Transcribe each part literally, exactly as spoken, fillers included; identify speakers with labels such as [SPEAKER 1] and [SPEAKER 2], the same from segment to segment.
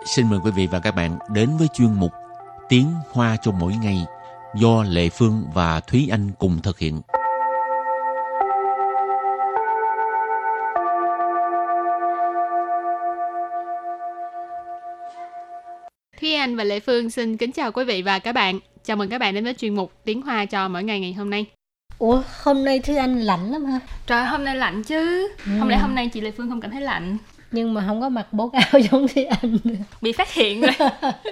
[SPEAKER 1] xin mời quý vị và các bạn đến với chuyên mục Tiếng Hoa cho mỗi ngày do Lệ Phương và Thúy Anh cùng thực hiện.
[SPEAKER 2] Thúy Anh và Lệ Phương xin kính chào quý vị và các bạn. Chào mừng các bạn đến với chuyên mục Tiếng Hoa cho mỗi ngày ngày hôm nay.
[SPEAKER 3] Ủa, hôm nay Thúy Anh lạnh lắm ha?
[SPEAKER 2] Trời, hôm nay lạnh chứ. Ừ. Không lẽ hôm nay chị Lệ Phương không cảm thấy lạnh?
[SPEAKER 3] Nhưng mà không có mặc bố áo giống Thúy Anh.
[SPEAKER 2] Bị phát hiện rồi.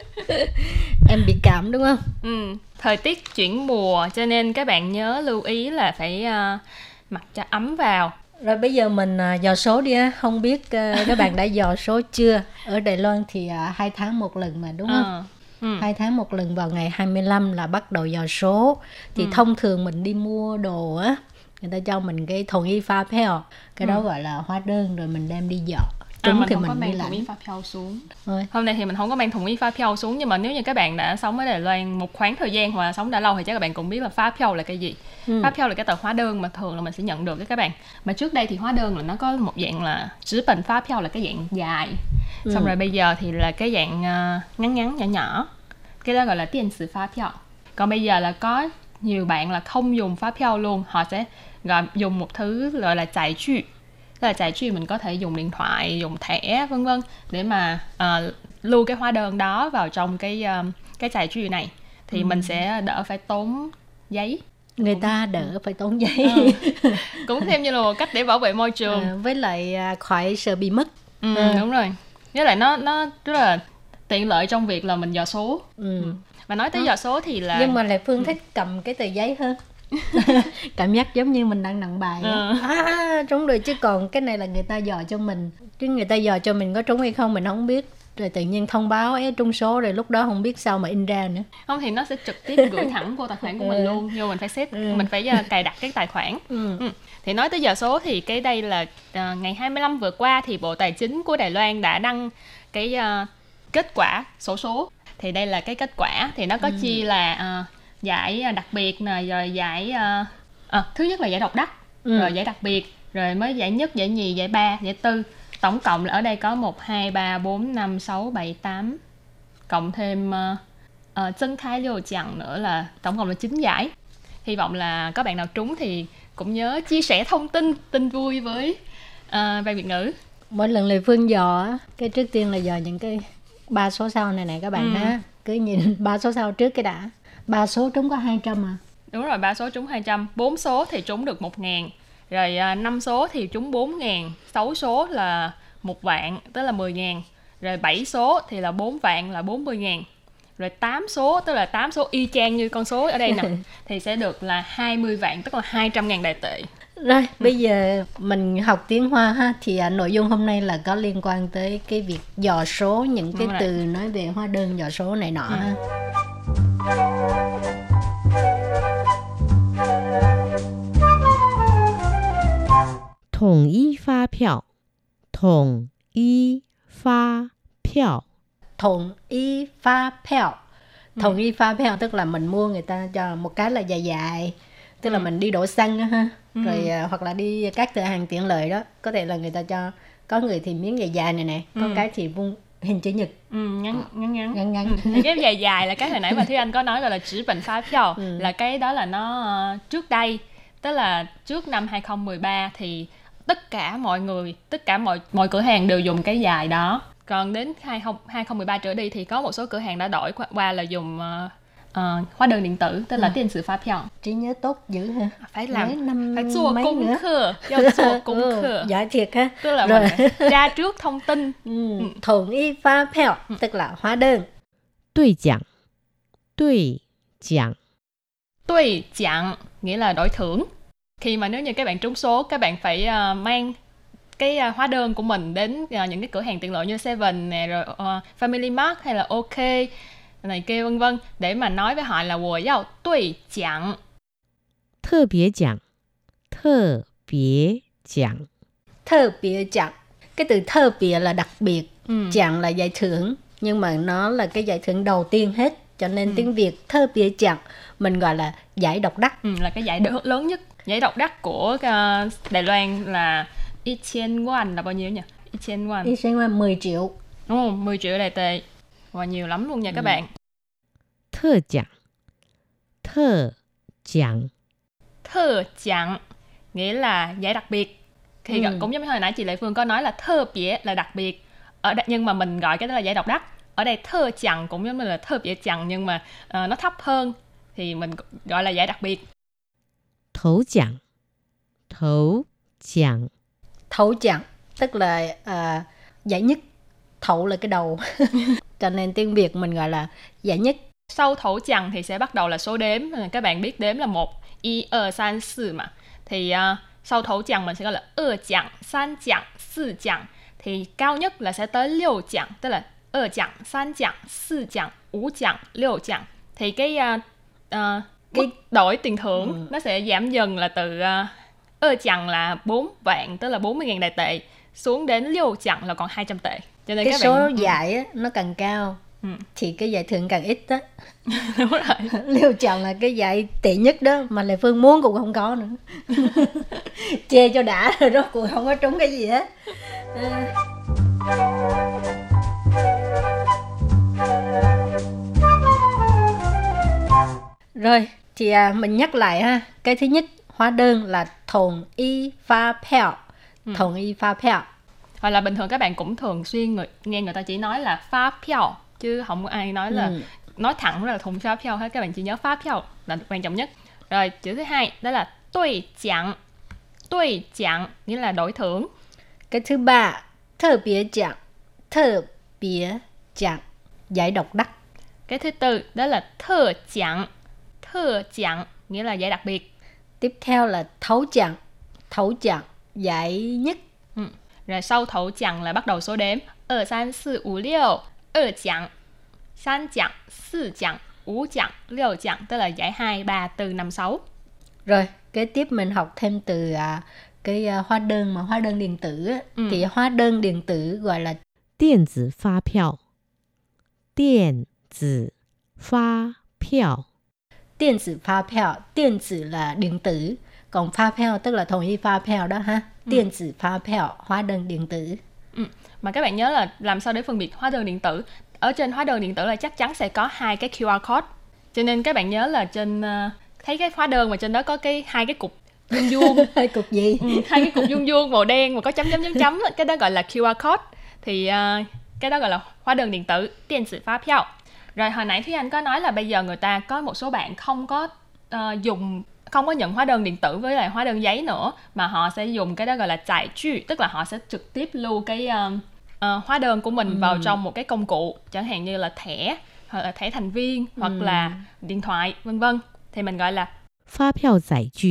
[SPEAKER 3] Em bị cảm đúng không?
[SPEAKER 2] Ừ, thời tiết chuyển mùa cho nên các bạn nhớ lưu ý là phải uh, mặc cho ấm vào.
[SPEAKER 3] Rồi bây giờ mình uh, dò số đi á. Không biết uh, các bạn đã dò số chưa? Ở Đài Loan thì uh, hai tháng một lần mà đúng không?
[SPEAKER 2] À. Ừ.
[SPEAKER 3] Hai tháng một lần vào ngày hai mươi lăm là bắt đầu dò số. Thì ừ. thông thường mình đi mua đồ á, người ta cho mình cái thùng y pha phèo. Cái đó ừ. gọi là hóa đơn rồi mình đem đi dò.
[SPEAKER 2] À, mình thì không mình có mang thùng y pha phèo xuống. Rồi. Hôm nay thì mình không có mang thùng y pha phèo xuống. Nhưng mà nếu như các bạn đã sống ở Đài Loan một khoảng thời gian hoặc là sống đã lâu thì chắc các bạn cũng biết là pha phèo là cái gì. ừ. Pha phèo là cái tờ hóa đơn mà thường là mình sẽ nhận được các bạn. Mà trước đây thì hóa đơn là nó có một dạng là chữ bình pha phèo là cái dạng dài. ừ. Xong rồi bây giờ thì là cái dạng uh, ngắn ngắn nhỏ nhỏ. Cái đó gọi là tiền sử pha phèo. Còn bây giờ là có nhiều bạn là không dùng pha phèo luôn. Họ sẽ gọi dùng một thứ gọi là giải trừ. Tức là giải trừ mình có thể dùng điện thoại, dùng thẻ vân vân để mà uh, lưu cái hóa đơn đó vào trong cái uh, cái giải trừ này thì ừ. mình sẽ đỡ phải tốn giấy.
[SPEAKER 3] Người
[SPEAKER 2] cũng,
[SPEAKER 3] ta đỡ ừ. phải tốn giấy.
[SPEAKER 2] Ừ. Cũng thêm như là một cách để bảo vệ môi trường.
[SPEAKER 3] À, với lại khỏi sợ bị mất.
[SPEAKER 2] Ừ, à. Đúng rồi. Với lại nó nó rất là tiện lợi trong việc là mình dò số. Ừ. Ừ. Và nói tới à. dò số thì là
[SPEAKER 3] nhưng mà Lệ Phương thích cầm cái tờ giấy hơn. Cảm giác giống như mình đang nặng bài. ừ. À, trúng rồi, chứ còn cái này là người ta dò cho mình, chứ người ta dò cho mình có trúng hay không mình không biết, rồi tự nhiên thông báo ấy trúng số rồi lúc đó không biết sao mà in ra nữa.
[SPEAKER 2] Không thì nó sẽ trực tiếp gửi thẳng vô tài khoản của mình luôn, nhưng mình phải set ừ. mình phải uh, cài đặt cái tài khoản. ừ. Ừ. Thì nói tới dò số thì cái đây là uh, ngày hai mươi lăm vừa qua thì Bộ Tài chính của Đài Loan đã đăng cái uh, kết quả xổ số. Thì đây là cái kết quả thì nó có ừ. chia là uh, giải đặc biệt nè, rồi giải uh, à, thứ nhất là giải độc đắc, ừ. rồi giải đặc biệt, rồi mới giải nhất, giải nhì, giải ba, giải tư. Tổng cộng là ở đây có một, hai, ba, bốn, năm, sáu, bảy, tám, cộng thêm uh, uh, chân khai liều chặng nữa là tổng cộng là chín giải. Hy vọng là các bạn nào trúng thì cũng nhớ chia sẻ thông tin tin vui với uh, Ban Việt ngữ.
[SPEAKER 3] Mỗi lần Lệ Phương dò cái trước tiên là dò những cái ba số sau này nè các bạn. ừ. ha cứ nhìn ba số sau trước cái đã. Ba số trúng có hai trăm à?
[SPEAKER 2] Đúng rồi, ba số trúng hai trăm. Bốn số thì trúng được một ngàn. Rồi năm số thì trúng bốn ngàn. Sáu số là một vạn, tức là mười ngàn. Rồi bảy số thì là bốn vạn, là bốn mươi ngàn. Rồi tám số, tức là tám số y chang như con số ở đây nè, thì sẽ được là hai mươi vạn, tức là hai trăm ngàn Đài tệ.
[SPEAKER 3] Rồi, ừ. bây giờ mình học tiếng Hoa ha. Thì à, nội dung hôm nay là có liên quan tới cái việc dò số, những cái từ nói về hóa đơn dò số này nọ ừ. ha.
[SPEAKER 4] Thống y phát票, thống y phát票.
[SPEAKER 3] Thống y phát票. Thống y phát票tức là mình mua người ta cho một cái là dài dài, tức là ừ. mình đi đổ xăng đó ha. Ừ. Rồi uh, hoặc là đi các cửa hàng tiện lợi đó, có thể là người ta cho, có người thì miếng dài dài này nè, có ừ. cái thì vuông hình chữ nhật.
[SPEAKER 2] Ừ, ngắn ngắn ngắn.
[SPEAKER 3] ngắn, ngắn.
[SPEAKER 2] Ừ. Cái dài dài là cái hồi nãy mà Thúy Anh có nói gọi là chữ bình phá phiếu, ừ. là cái đó là nó uh, trước đây, tức là trước năm hai không một ba thì tất cả mọi người, tất cả mọi mọi cửa hàng đều dùng cái dài đó. Còn đến hai không một ba trở đi thì có một số cửa hàng đã đổi qua là dùng uh, uh, hóa đơn điện tử, tức là tiền sử phát phiếu.
[SPEAKER 3] Trí nhớ tốt dữ ha.
[SPEAKER 2] Phải làm, năm phải做功課,要做功課.
[SPEAKER 3] Giỏi thiệt ha.
[SPEAKER 2] Tức là rồi. Mình phải ra trước thông tin.
[SPEAKER 3] ừ. Thống y phát phiếu, tức là hóa đơn.
[SPEAKER 4] Đối奖, đối奖.
[SPEAKER 2] Đối奖nghĩa là đổi thưởng. Khi mà nếu như các bạn trúng số, các bạn phải uh, mang cái uh, hóa đơn của mình đến uh, những cái cửa hàng tiện lợi như Seven nè, rồi uh, Family Mart hay là OK này kia vân vân, để mà nói với họ là wo yao đối奖.
[SPEAKER 4] 特別獎, 特別獎.
[SPEAKER 3] 特別獎. Cái từ 特別 là đặc biệt,
[SPEAKER 2] ừ.
[SPEAKER 3] 獎là giải thưởng, nhưng mà nó là cái giải thưởng đầu tiên hết, cho nên ừ. tiếng Việt 特別獎mình gọi là giải độc đắc.
[SPEAKER 2] Ừ, là cái giải đ- lớn nhất. Giải độc đắc của uh, Đài Loan là một trăm won là bao nhiêu nhỉ? một trăm won.
[SPEAKER 3] một trăm won mười triệu.
[SPEAKER 2] Ồ, mười triệu đài tệ. Và nhiều lắm luôn nha các ừ. bạn.
[SPEAKER 4] Thơ奖, thơ奖.
[SPEAKER 2] Thơ奖nghĩa là giải đặc biệt. Thì ừ. cũng giống như hồi nãy chị Lệ Phương có nói là thơ biệt là đặc biệt. Ở đây, nhưng mà mình gọi cái đó là giải độc đắc. Ở đây thơ chẳng cũng giống như là thơ biệt chẳng, nhưng mà uh, nó thấp hơn thì mình gọi là giải đặc biệt.
[SPEAKER 4] Thấu chẳng, thấu chẳng.
[SPEAKER 3] Thấu chẳng tức là uh, giải nhất. Thấu là cái đầu. Cho nên tiếng Việt mình gọi là giải nhất.
[SPEAKER 2] Sau thấu chẳng thì sẽ bắt đầu là số đếm. Các bạn biết đếm là một, một, hai, ba, bốn mà. Thì uh, sau thấu chẳng mình sẽ gọi là hai chẳng, ba chẳng, bốn chẳng. Thì cao nhất là sẽ tới sáu chẳng, tức là hai chẳng, ba chẳng, bốn chẳng, năm chẳng, sáu chẳng. Thì cái uh, uh, cái đổi tiền thưởng ừ. nó sẽ giảm dần là từ uh, hai chẳng là bốn vạn, tức là bốn mươi nghìn đài tệ, xuống đến sáu chẳng là còn hai trăm tệ. Cho nên
[SPEAKER 3] cái
[SPEAKER 2] các
[SPEAKER 3] số
[SPEAKER 2] bạn...
[SPEAKER 3] giải á, nó càng cao ừ. thì cái giải thưởng càng ít đó.
[SPEAKER 2] Đúng rồi.
[SPEAKER 3] Sáu chẳng là cái giải tệ nhất đó, mà Lệ Phương muốn cũng không có nữa. Chê cho đã rồi đó, cũng không có trúng cái gì hết. À... Rồi, thì à, mình nhắc lại ha. Cái thứ nhất, hóa đơn là thồng y pha pèo. Thồng y pha pèo.
[SPEAKER 2] Hoặc là bình thường các bạn cũng thường xuyên người, nghe người ta chỉ nói là pha pèo, chứ không có ai nói là ừ. nói thẳng là thùng pha pèo hết. Các bạn chỉ nhớ pha pèo là quan trọng nhất. Rồi, chữ thứ hai đó là đối奖. Đối奖nghĩa là đổi thưởng.
[SPEAKER 3] Cái thứ ba,特別獎.特別獎, giải độc đắc.
[SPEAKER 2] Cái thứ tư đó là thơ奖. Thơ奖nghĩa là giải đặc biệt.
[SPEAKER 3] Tiếp theo là thấu奖. Thấu奖, giải nhất.
[SPEAKER 2] Ừ. Rồi sau thấu奖là bắt đầu số đếm. hai, ba, bốn, năm, sáu. hai奖, ba奖, bốn奖, năm奖, sáu奖, tức là giải hai, ba, bốn, năm, sáu.
[SPEAKER 3] Rồi, kế tiếp mình học thêm từ à, cái à, hóa đơn mà hóa đơn điện tử á. Ừ. Thì hóa đơn điện tử gọi là
[SPEAKER 4] điện tử phát票. Điện tử phát票.
[SPEAKER 3] Điện tử phát票. Điện tử là điện tử, còn phát票tức là thồng y phát票đó ha. Điện tử phát票, hóa đơn điện tử.
[SPEAKER 2] Ừ. Mà các bạn nhớ là làm sao để phân biệt hóa đơn điện tử. Ở trên hóa đơn điện tử là chắc chắn sẽ có hai cái quy rờ code. Cho nên các bạn nhớ là trên uh, thấy cái hóa đơn mà trên đó có cái hai cái cục vuông vuông.
[SPEAKER 3] Hai cục gì?
[SPEAKER 2] Ừ, hai cái cục vuông vuông màu đen mà có chấm chấm chấm chấm, cái đó gọi là quy rờ code. Thì uh, cái đó gọi là hóa đơn điện tử, điện tử phát票. Rồi hồi nãy Thúy Anh có nói là bây giờ người ta có một số bạn không có uh, dùng không có nhận hóa đơn điện tử với lại hóa đơn giấy nữa, mà họ sẽ dùng cái đó gọi là giải trừ, tức là họ sẽ trực tiếp lưu cái uh, uh, hóa đơn của mình ừ. vào trong một cái công cụ, chẳng hạn như là thẻ hoặc là thẻ thành viên hoặc ừ. là điện thoại vân vân, thì mình gọi là
[SPEAKER 4] phát票giải trừ.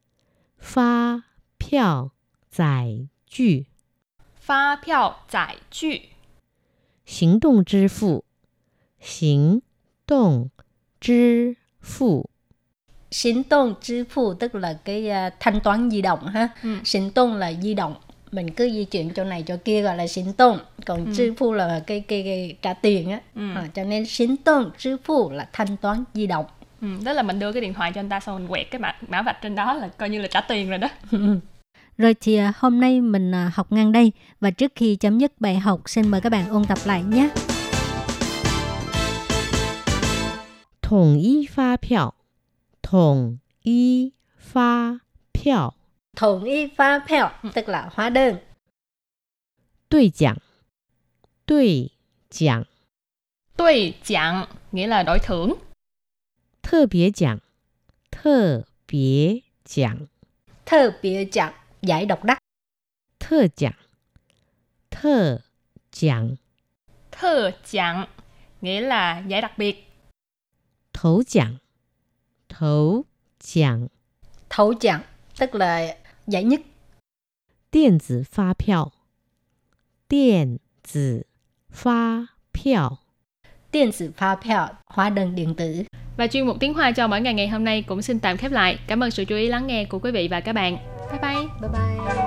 [SPEAKER 4] Phát票giải trừ.
[SPEAKER 2] Phát票giải trừ.
[SPEAKER 4] Hành động支付. Hành động支付.
[SPEAKER 3] Hành động支付tức là cái uh, thanh toán di động ha. Ừ. Hành động là di động, mình cứ di chuyển chỗ này chỗ kia gọi là hành động. Còn ừ.支付là cái, cái, cái trả tiền á. Ừ. À, cho nên hành động支付là thanh toán di động.
[SPEAKER 2] Ừ, đó là mình đưa cái điện thoại cho anh ta xong mình quẹt cái mã, mã vạch trên đó là coi như là trả tiền rồi đó.
[SPEAKER 3] Rồi thì uh, hôm nay mình uh, học ngang đây. Và trước khi chấm dứt bài học, xin mời các bạn ôn tập lại nhé.
[SPEAKER 4] Thống y phát票. Thống y phát票.
[SPEAKER 3] Thống y phát票tức là hóa đơn.
[SPEAKER 4] Đối奖. Đối奖.
[SPEAKER 2] Đối奖nghĩa là đổi thưởng.
[SPEAKER 4] 特別獎.特別獎.
[SPEAKER 3] 特別獎, giải độc đắc.
[SPEAKER 4] 特獎.特獎.
[SPEAKER 2] 特獎nghĩa là giải đặc biệt.
[SPEAKER 4] Thấu奖. Thấu奖.
[SPEAKER 3] Thấu奖tức là giải nhất.
[SPEAKER 4] Điện tử phát票. Điện tử phát票.
[SPEAKER 3] Điện tử phát票, hóa đơn điện tử.
[SPEAKER 2] Và chuyên mục tiếng Hoa cho mỗi ngày ngày hôm nay cũng xin tạm khép lại. Cảm ơn sự chú ý lắng nghe của quý vị và các bạn. Bye bye.
[SPEAKER 3] Bye bye.